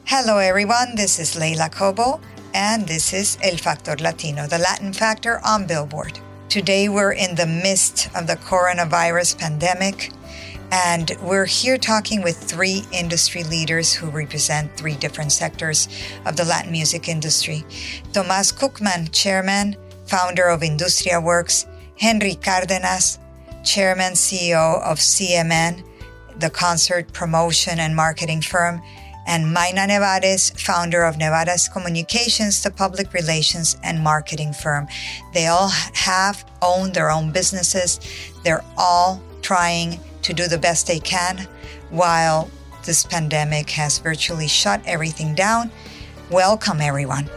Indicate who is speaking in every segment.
Speaker 1: Hello, everyone. This is Leila Cobo, and this is El Factor Latino, the Latin Factor on Billboard. Today, we're in the midst of the coronavirus pandemic, and we're here talking with three industry leaders who represent three different sectors of the Latin music industry. Tomás Cookman, chairman, founder of Industria Works, Henry Cárdenas, chairman, CEO of CMN, the concert promotion and marketing firm, and Mayna Nevares, founder of Nevares Communications, the public relations and marketing firm. They all own their own businesses. They're all trying to do the best they can while this pandemic has virtually shut everything down. Welcome, everyone.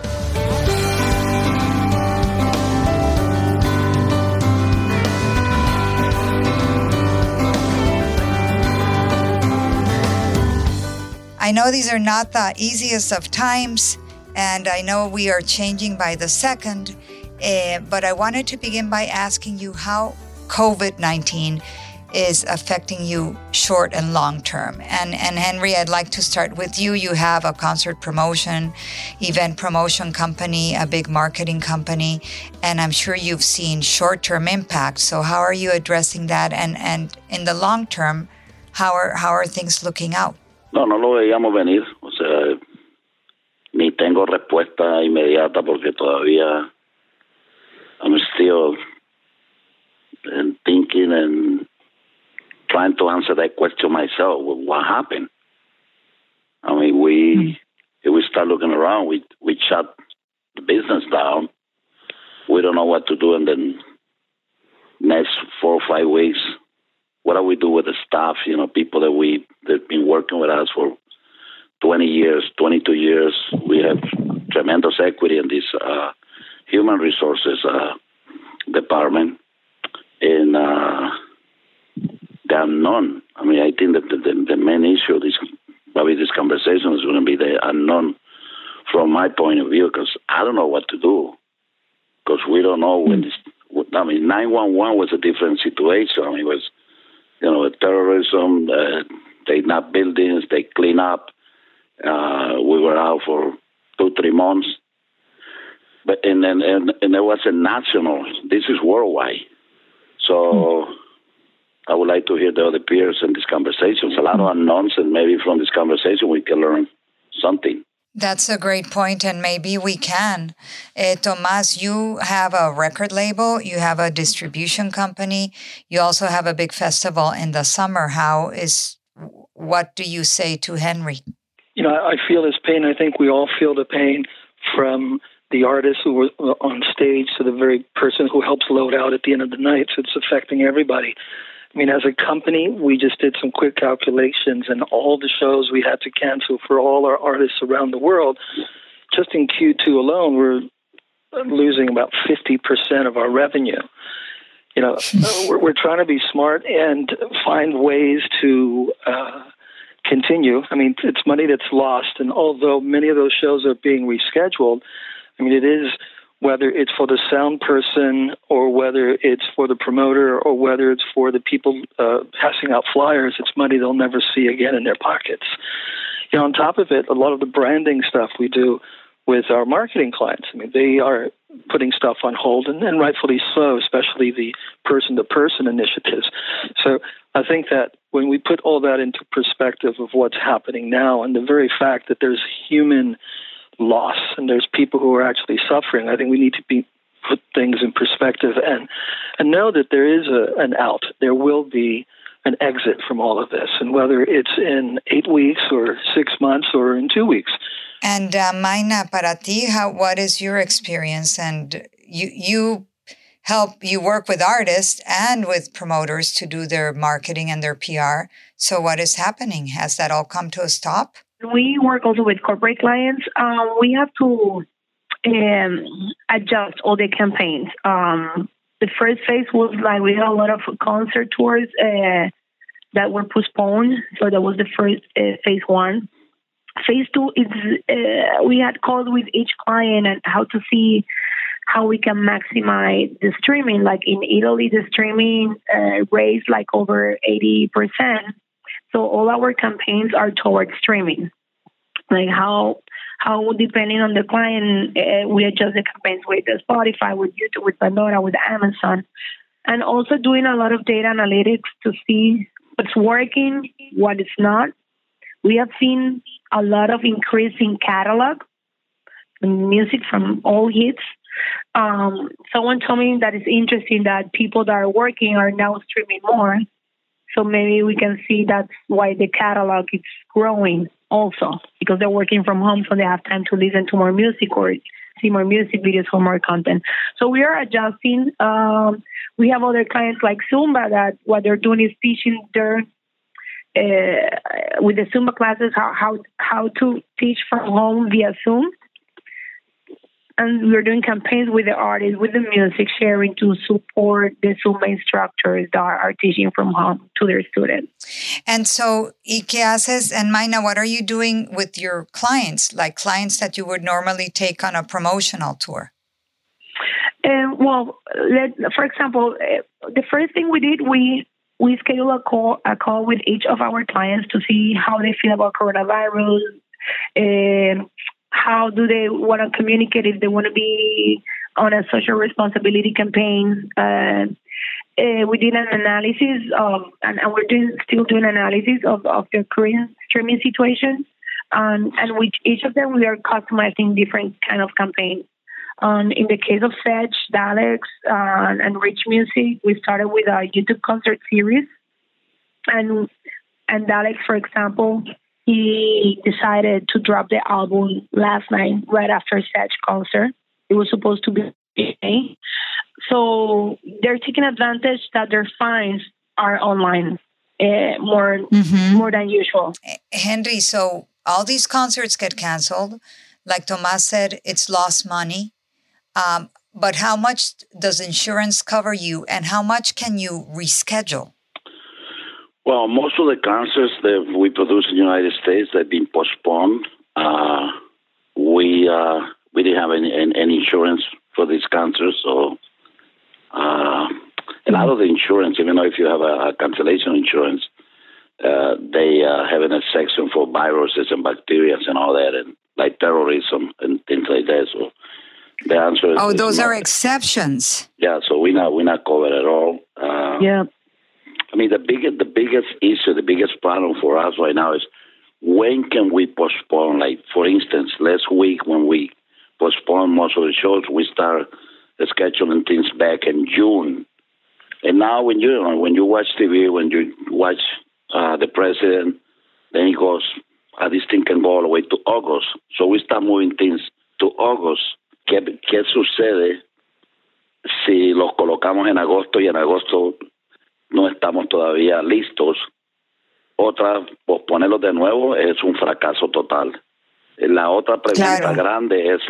Speaker 1: I know these are not the easiest of times, and I know we are changing by the second, but I wanted to begin by asking you how COVID-19 is affecting you short and long term. And Henry, I'd like to start with you. You have a concert promotion, event promotion company, a big marketing company, and I'm sure you've seen short-term impact. So how are you addressing that? And in the long term, how are things looking out?
Speaker 2: No lo veíamos venir, o sea, ni tengo respuesta inmediata porque todavía I'm still thinking and trying to answer that question myself. What happened? I mean, if we start looking around, we shut the business down. We don't know what to do in the next 4 or 5 weeks. What do we do with the staff? You know, people that've been working with us for 20 years, 22 years. We have tremendous equity in this human resources department. And the unknown. I mean, I think that the main issue of this conversation is going to be the unknown from my point of view, because I don't know what to do. Because we don't know when this. I mean, 911 was a different situation. I mean, it was, terrorism, they knock buildings, they clean up. We were out for 2-3 months. But and there was a national, this is worldwide. So I would like to hear the other peers in these conversations. A lot of unknowns, and maybe from this conversation we can learn something.
Speaker 1: That's a great point, and maybe we can. Tomás, you have a record label, you have a distribution company, you also have a big festival in the summer. What do you say to Henry?
Speaker 3: You know, I feel his pain. I think we all feel the pain, from the artist who were on stage to the very person who helps load out at the end of the night. So it's affecting everybody. I mean, as a company, we just did some quick calculations, and all the shows we had to cancel for all our artists around the world, just in Q2 alone, we're losing about 50% of our revenue. You know, we're trying to be smart and find ways to continue. I mean, it's money that's lost, and although many of those shows are being rescheduled, I mean, it is, whether it's for the sound person or whether it's for the promoter or whether it's for the people passing out flyers, it's money they'll never see again in their pockets. You know, on top of it, a lot of the branding stuff we do with our marketing clients, I mean, they are putting stuff on hold, and rightfully so, especially the person-to-person initiatives. So I think that when we put all that into perspective of what's happening now, and the very fact that there's human loss and there's people who are actually suffering, I think we need to put things in perspective and know that there is an out. There will be an exit from all of this, and whether it's in 8 weeks or 6 months or in 2 weeks.
Speaker 1: And Mayna, para ti, what is your experience? And you work with artists and with promoters to do their marketing and their PR. So what is happening? Has that all come to a stop?
Speaker 4: We work also with corporate clients. We have to adjust all the campaigns. The first phase was like we had a lot of concert tours that were postponed. So that was the first phase 1. Phase 2 is we had called with each client and how to see how we can maximize the streaming. Like in Italy, the streaming raised like over 80%. So all our campaigns are towards streaming. like how depending on the client, we adjust the campaigns with the Spotify, with YouTube, with Pandora, with Amazon, and also doing a lot of data analytics to see what's working, what is not. We have seen a lot of increase in catalog, music from all hits. Someone told me that it's interesting that people that are working are now streaming more. So maybe we can see that's why the catalog is growing also, because they're working from home, so they have time to listen to more music or see more music videos for more content. So we are adjusting. We have other clients like Zumba that what they're doing is teaching their with the Zumba classes how to teach from home via Zoom. And we're doing campaigns with the artists, with the music, sharing to support the Zumba instructors that are teaching from home to their students.
Speaker 1: And so, ¿y qué haces? And Mayna, what are you doing with your clients, like clients that you would normally take on a promotional tour?
Speaker 4: For example, the first thing we did, we scheduled a call with each of our clients to see how they feel about coronavirus, and how do they want to communicate if they want to be on a social responsibility campaign. We did an analysis of, and we're still doing analysis of their current streaming situation, and with each of them we are customizing different kind of campaigns. In the case of Sedge, Dalex, and Rich Music, we started with a YouTube concert series, and Dalex, for example, he decided to drop the album last night, right after Sedge concert. It was supposed to be today. So they're taking advantage that their fines are online more than usual.
Speaker 1: Henry, so all these concerts get canceled. Like Tomas said, it's lost money. But how much does insurance cover you, and how much can you reschedule?
Speaker 2: Well, most of the concerts that we produce in the United States, they've been postponed. We didn't have any insurance for these concerts, so a lot of the insurance, even though if you have a cancellation insurance, they have a section for viruses and bacteria and all that, and like terrorism and things like that. So the answer is
Speaker 1: those are exceptions.
Speaker 2: Yeah, so we're not covered at all.
Speaker 4: Yeah.
Speaker 2: I mean, the biggest issue, the biggest problem for us right now is when can we postpone? Like, for instance, last week when we postponed most of the shows, we start scheduling things back in June. And now when you watch TV, when you watch the president, then he goes, this thing can go all the way to August. So we start moving things to August. ¿Qué sucede si los colocamos en agosto y en agosto no estamos todavía listos? Posponerlos de nuevo es un fracaso total. La otra pregunta grande es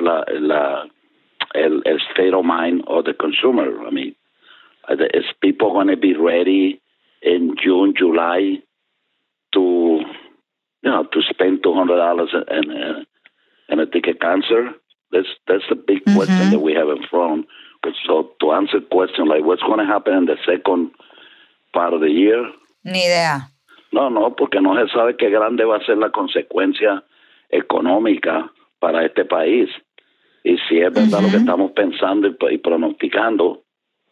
Speaker 2: el state of mind of the consumer. I mean, is people going to be ready in June, July to spend $200 and a ticket concert? That's the big question that we have in front. So to answer the question, like what's going to happen in the second part of the year?
Speaker 1: Ni idea.
Speaker 2: No, porque no se sabe qué grande va a ser la consecuencia económica para este país. Y si es verdad lo que estamos pensando y pronosticando,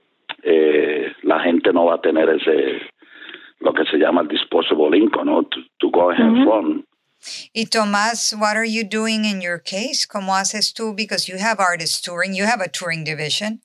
Speaker 2: la gente no va a tener lo que se llama el disposable income, ¿no? To go ahead and run.
Speaker 1: Y Tomás, what are you doing in your case? ¿Cómo haces tú? Because you have artists touring, you have a touring division.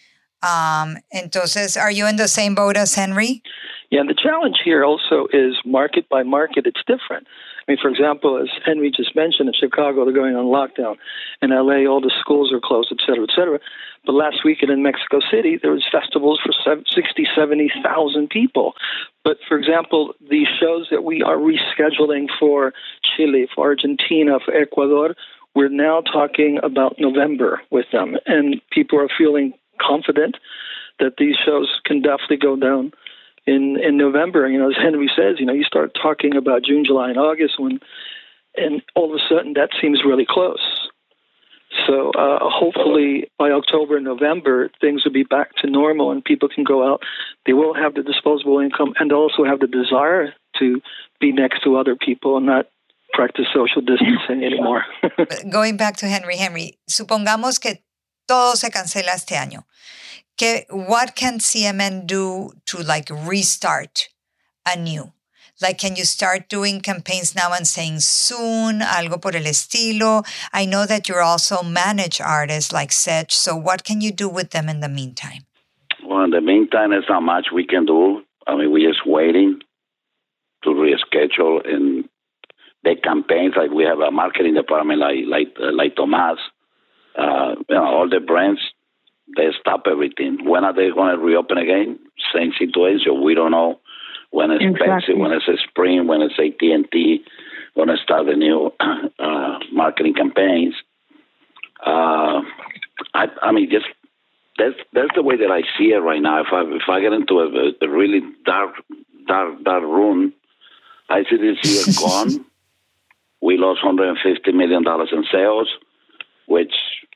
Speaker 1: Entonces, are you in the same boat as Henry?
Speaker 3: Yeah, and the challenge here also is market by market, it's different. I mean, for example, as Henry just mentioned, in Chicago, they're going on lockdown. In LA, all the schools are closed, et cetera, et cetera. But last weekend in Mexico City, there was festivals for 60, 70,000 people. But, for example, these shows that we are rescheduling for Chile, for Argentina, for Ecuador, we're now talking about November with them. And people are feeling confident that these shows can definitely go down in November. You know, as Henry says, you start talking about June, July, and August, and all of a sudden that seems really close. So hopefully by October, November, things will be back to normal and people can go out. They will have the disposable income and also have the desire to be next to other people and not practice social distancing anymore.
Speaker 1: Going back to Henry, supongamos que todo se cancela este año. What can CMN do to like restart anew? Like, can you start doing campaigns now and saying soon, algo por el estilo? I know that you also manage artists like Sech, so what can you do with them in the meantime?
Speaker 2: Well, in the meantime, there's not much we can do. I mean, we're just waiting to reschedule and big campaigns. Like we have a marketing department like Tomas. All the brands, they stop everything. When are they going to reopen again? Same situation. We don't know. When it's Pepsi, when it's Spring, when it's AT&T, when I start the new marketing campaigns. I mean, just that's the way that I see it right now. If I get into a really dark room, I see this year gone. We lost $150 million in sales, which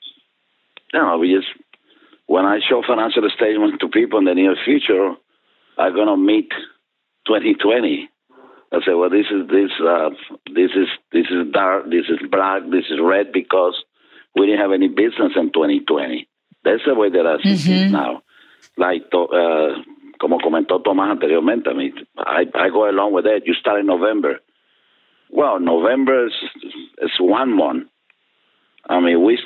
Speaker 2: when I show financial statements to people in the near future, I'm gonna meet 2020. I say, well, this is dark, this is black, this is red because we didn't have any business in 2020. That's the way that I see it now. Like, como comentó Tomás anteriormente, I mean, I go along with that. You start in November. Well, November is 1 month. I mean, we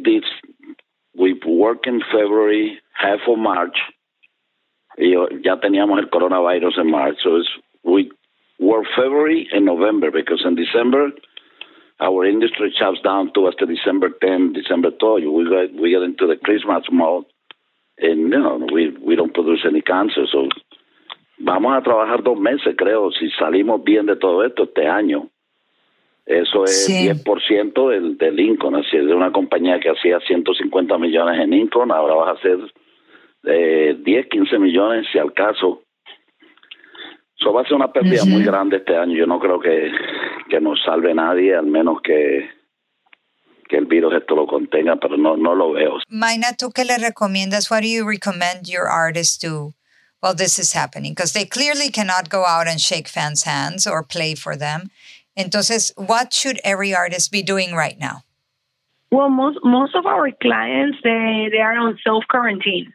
Speaker 2: work in February, half of March. Ya teníamos el coronavirus in March, so we work February and November because in December our industry shuts down towards the December 10, December 12. We get into the Christmas mode, and we don't produce any cancer. So vamos a trabajar 2 meses, creo, si salimos bien de todo esto este año. Eso es 10% del income. Así es, de una compañía que hacía 150 millones en income, ahora vas a hacer 10, 15 millones si al caso. Eso va a ser una pérdida muy grande este año. Yo no creo que nos salve nadie, al menos que el virus esto lo contenga, pero no lo veo.
Speaker 1: Mayna, ¿tú qué le recomiendas? What do you recommend your artists do while this is happening? Because they clearly cannot go out and shake fans' hands or play for them. Entonces, what should every artist be doing right now?
Speaker 4: Well, most of our clients, they are on self-quarantine.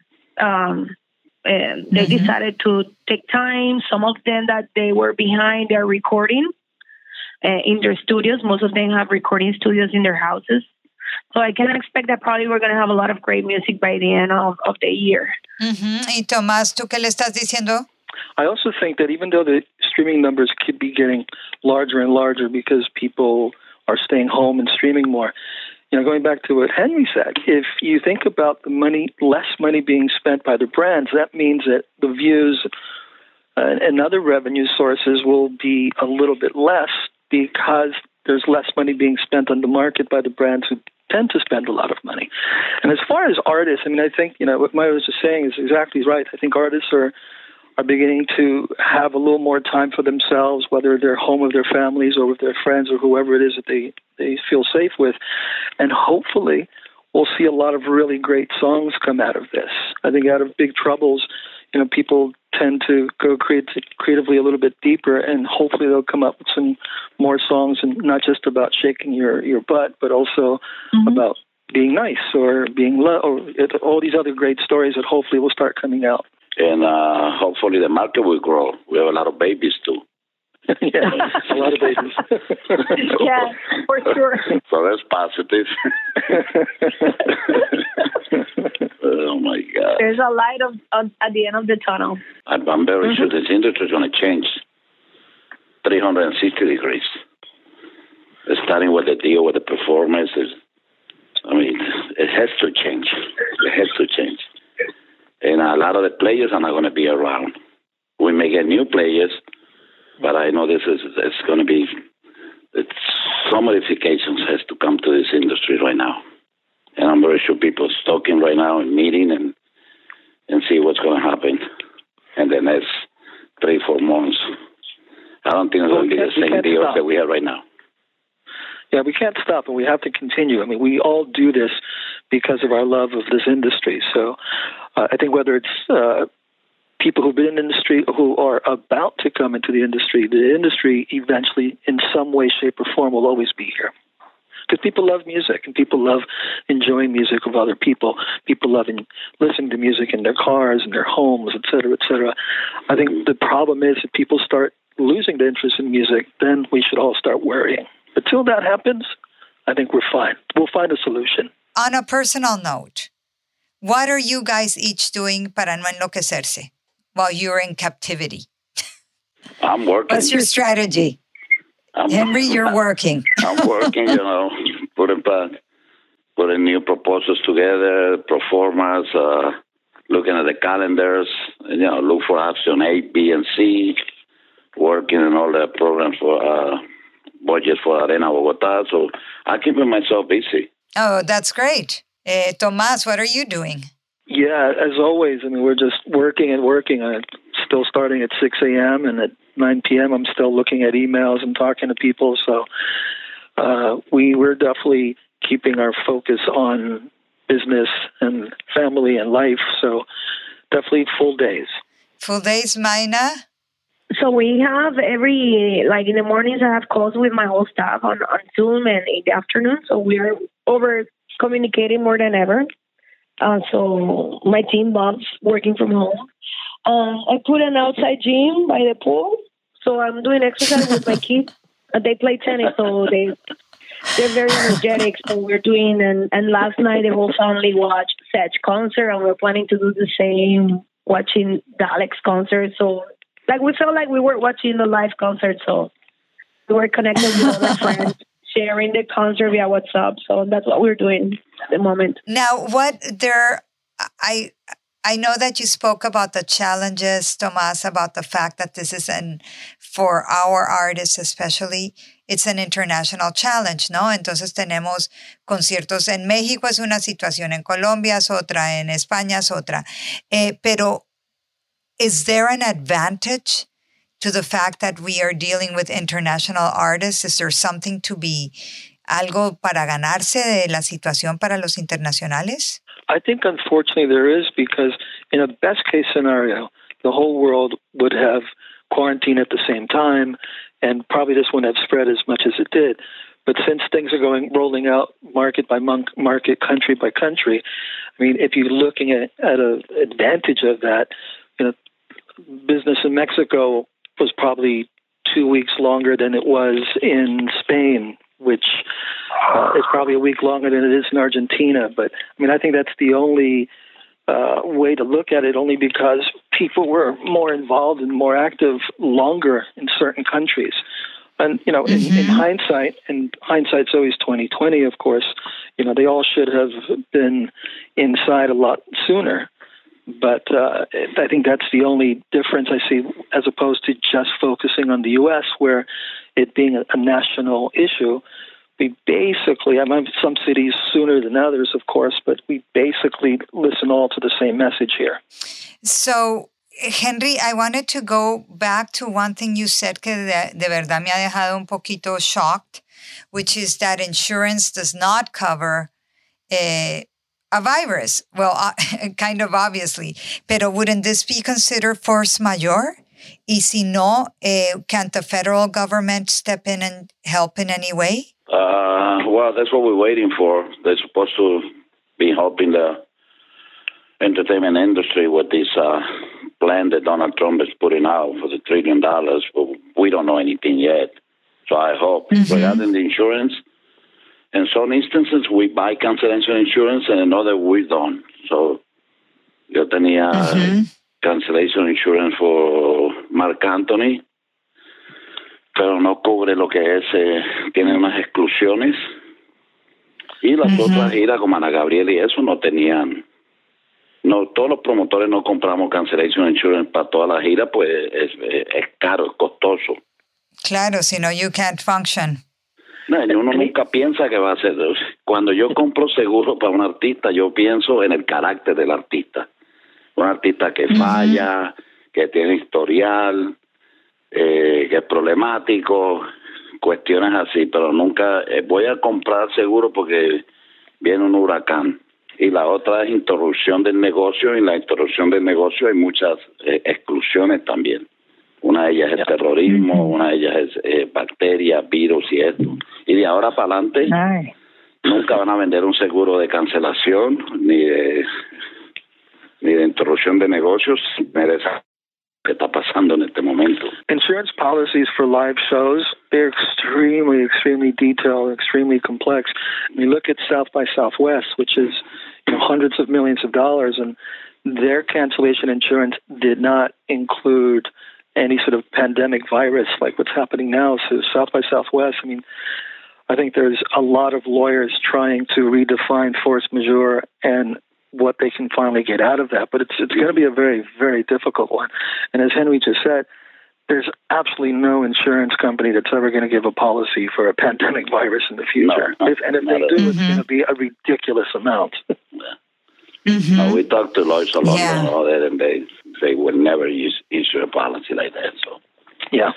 Speaker 4: They decided to take time. Some of them that they were behind, they're recording in their studios. Most of them have recording studios in their houses. So I can expect that probably we're going to have a lot of great music by the end of the year.
Speaker 1: Y Tomás, ¿tú qué le estás diciendo?
Speaker 3: I also think that even though the streaming numbers could be getting larger and larger because people are staying home and streaming more, going back to what Henry said, if you think about the less money being spent by the brands, that means that the views and other revenue sources will be a little bit less because there's less money being spent on the market by the brands who tend to spend a lot of money. And as far as artists, I mean, I think, what Maya was just saying is exactly right. I think artists are beginning to have a little more time for themselves, whether they're home with their families or with their friends or whoever it is that they feel safe with. And hopefully we'll see a lot of really great songs come out of this. I think out of big troubles, people tend to go creatively a little bit deeper, and hopefully they'll come up with some more songs, and not just about shaking your butt, but also about being nice or being or all these other great stories that hopefully will start coming out.
Speaker 2: And hopefully the market will grow. We have a lot of babies too.
Speaker 3: Yeah, a lot of babies.
Speaker 4: Yeah, for sure.
Speaker 2: So that's positive. Oh my God.
Speaker 4: There's a light at the end of the tunnel.
Speaker 2: I'm very sure this industry is going to change 360 degrees. Starting with the deal with the performances. I mean, it has to change. It has to change. And a lot of the players are not going to be around. We may get new players, but I know it's going to be, some modifications has to come to this industry right now. And I'm very sure people are talking right now and meeting and see what's going to happen in the next 3-4 months. I don't think it's going to be the same deal that we have right now.
Speaker 3: Yeah, we can't stop, and we have to continue. I mean, we all do this because of our love of this industry. So I think whether it's people who've been in the industry, who are about to come into the industry eventually, in some way, shape, or form, will always be here. Because people love music, and people love enjoying music of other people. People love listening to music in their cars, in their homes, et cetera, et cetera. I think the problem is if people start losing the interest in music, then we should all start worrying. But till that happens, I think we're fine. We'll find a solution.
Speaker 1: On a personal note, what are you guys each doing para no enloquecerse while you're in captivity?
Speaker 2: I'm working.
Speaker 1: What's your strategy? Henry, you're working.
Speaker 2: I'm working, putting new proposals together, pro formas, looking at the calendars, look for option A, B, and C, working on all the programs for budget for Arena Bogotá. So I'm keeping myself busy.
Speaker 1: Oh, that's great. Tomás, what are you doing?
Speaker 3: Yeah, as always, we're just working and working. I'm still starting at 6 a.m. and at 9 p.m. I'm still looking at emails and talking to people. So we're definitely keeping our focus on business and family and life. So definitely full days.
Speaker 1: Full days, Mayna?
Speaker 4: So we have in the mornings I have calls with my whole staff on Zoom, and in the afternoon. So we are over communicating more than ever. So my team loves working from home. I put an outside gym by the pool, so I'm doing exercise with my kids. They play tennis, so they're very energetic. So we're doing, and last night the whole family watched Sedge concert, and we're planning to do the same, watching the Alex concert. So we felt like we were watching the live concert, so we were connected with other friends, sharing the concert via WhatsApp. So that's what we're doing at the moment.
Speaker 1: Now, I know that you spoke about the challenges, Tomás, about the fact that this is for our artists especially, it's an international challenge, ¿no? Entonces tenemos conciertos en México, es una situación, en Colombia es otra, en España es otra. Pero is there an advantage to the fact that we are dealing with international artists? Is there something to be, algo para ganarse de la situación para los internacionales?
Speaker 3: I think, unfortunately, there is, because in a best-case scenario, the whole world would have quarantine at the same time, and probably this wouldn't have spread as much as it did. But since things are rolling out market by market, country by country, if you're looking at an advantage of that, business in Mexico was probably 2 weeks longer than it was in Spain, which is probably a week longer than it is in Argentina. But I think that's the only way to look at it, only because people were more involved and more active longer in certain countries. And, in hindsight, and hindsight's always 20/20, of course, they all should have been inside a lot sooner. But I think that's the only difference I see, as opposed to just focusing on the U.S., where it being a national issue, we basically, some cities sooner than others, of course, but we basically listen all to the same message here.
Speaker 1: So, Henry, I wanted to go back to one thing you said que de verdad me ha dejado un poquito shocked, which is that insurance does not cover a virus. Well, kind of obviously. Pero wouldn't this be considered force majeure? Y si no, can't the federal government step in and help in any way?
Speaker 2: Well, that's what we're waiting for. They're supposed to be helping the entertainment industry with this plan that Donald Trump is putting out for the $1 trillion, but we don't know anything yet. So I hope. Regarding the insurance, in some instances we buy cancellation insurance and in other we don't. So yo tenía cancellation insurance for Marc Anthony, pero no cubre lo que es, tiene unas exclusiones. Y las otras giras como Ana Gabriel y eso no tenían. No, todos los promotores no compramos cancellation insurance para toda la gira, pues es caro, es costoso.
Speaker 1: Claro, si no, you can't function.
Speaker 2: No, uno nunca piensa que va a ser. Cuando yo compro seguro para un artista, yo pienso en el carácter del artista. Un artista que falla, que tiene historial, que es problemático, cuestiones así, pero nunca voy a comprar seguro porque viene un huracán. Y la otra es interrupción del negocio. Y en la interrupción del negocio hay muchas exclusiones también. Una de ellas es terrorismo, una de ellas es bacterias, virus y esto. Y de ahora para adelante nunca van a vender un seguro de cancelación ni de interrupción de negocios. ¿Qué está pasando en este momento?
Speaker 3: Insurance policies for live shows, they're extremely detailed, extremely complex. You look at South by Southwest, which is hundreds of millions of dollars, and their cancellation insurance did not include any sort of pandemic virus like what's happening now. So South by Southwest, I think there's a lot of lawyers trying to redefine force majeure and what they can finally get out of that. But it's going to be a very, very difficult one. And as Henry just said, there's absolutely no insurance company that's ever going to give a policy for a pandemic virus in the future. If they do, it's going to be a ridiculous amount.
Speaker 2: No, we talked to lawyers a lot about that, and they would never issue a policy like that. So, yeah.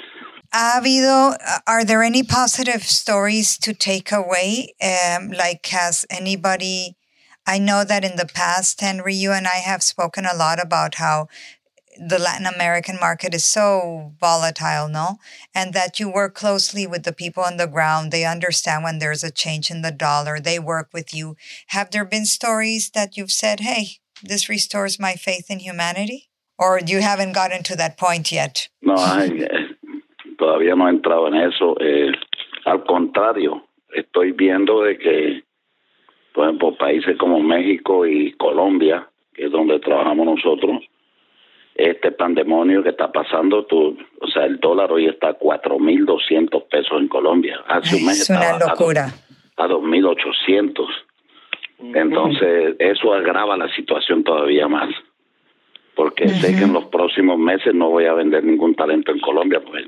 Speaker 1: Are there any positive stories to take away? Like, has anybody... I know that in the past, Henry, you and I have spoken a lot about how the Latin American market is so volatile, no? And that you work closely with the people on the ground. They understand when there's a change in the dollar. They work with you. Have there been stories that you've said, hey, this restores my faith in humanity? Or you haven't gotten to that point yet?
Speaker 2: No, todavía no he entrado en eso. Al contrario, estoy viendo de que, por ejemplo, países como México y Colombia, que es donde trabajamos nosotros, este pandemonio que está pasando, el dólar hoy está a 4,200 pesos en Colombia. Hace un mes
Speaker 1: estaba
Speaker 2: a 2,800. Entonces, eso agrava la situación todavía más. Porque sé que en los próximos meses no voy a vender ningún talento en Colombia, porque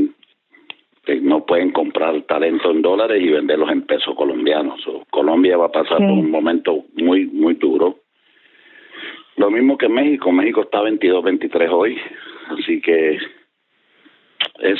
Speaker 2: no pueden comprar talento en dólares y venderlos en pesos colombianos. Colombia va a pasar por un momento muy, muy duro. Lo mismo que México. México está 22, 23 hoy. Así que es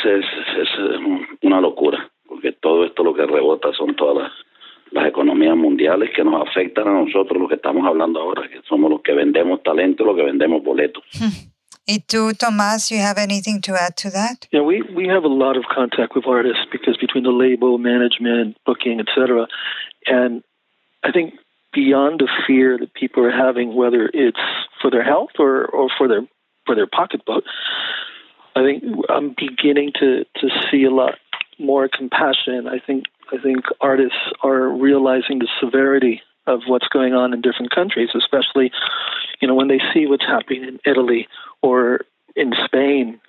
Speaker 2: una locura, porque todo esto lo que rebota son todas las economías mundiales que nos afectan a nosotros, los que estamos hablando ahora, que somos los que vendemos talento, los que vendemos boletos.
Speaker 1: ¿Y tú, Tomás, you have anything to add to that?
Speaker 3: Yeah, we have a lot of contact with artists because between the label, management, booking, etc. And I think beyond the fear that people are having, whether it's for their health or for their pocketbook, I think I'm beginning to see a lot more compassion. I think artists are realizing the severity of what's going on in different countries, especially, when they see what's happening in Italy or in Spain.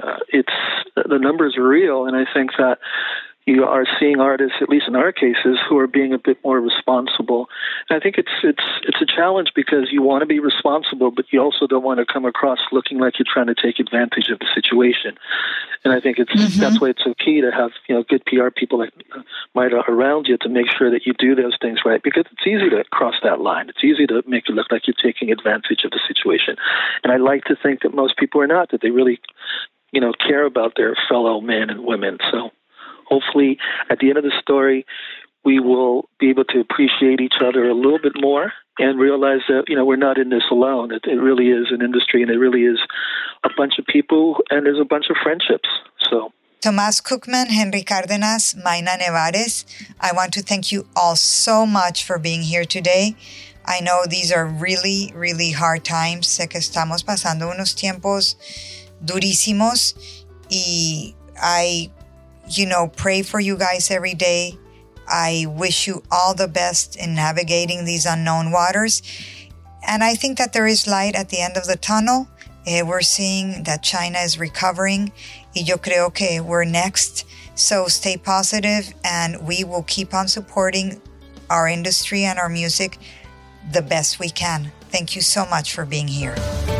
Speaker 3: The numbers are real, and I think that you are seeing artists, at least in our cases, who are being a bit more responsible. And I think it's a challenge because you want to be responsible, but you also don't want to come across looking like you're trying to take advantage of the situation. And I think that's why it's so key to have good PR people like Maida around you to make sure that you do those things right, because it's easy to cross that line. It's easy to make it look like you're taking advantage of the situation. And I like to think that most people are not, that they really care about their fellow men and women. So hopefully, at the end of the story, we will be able to appreciate each other a little bit more and realize that, we're not in this alone. It really is an industry, and it really is a bunch of people, and there's a bunch of friendships. So,
Speaker 1: Tomás Cookman, Henry Cárdenas, Mayna Nevares, I want to thank you all so much for being here today. I know these are really, really hard times. Sé que estamos pasando unos tiempos durísimos, y I pray for you guys every day. I wish you all the best in navigating these unknown waters. And I think that there is light at the end of the tunnel. We're seeing that China is recovering. Y yo creo que we're next. So stay positive, and we will keep on supporting our industry and our music the best we can. Thank you so much for being here.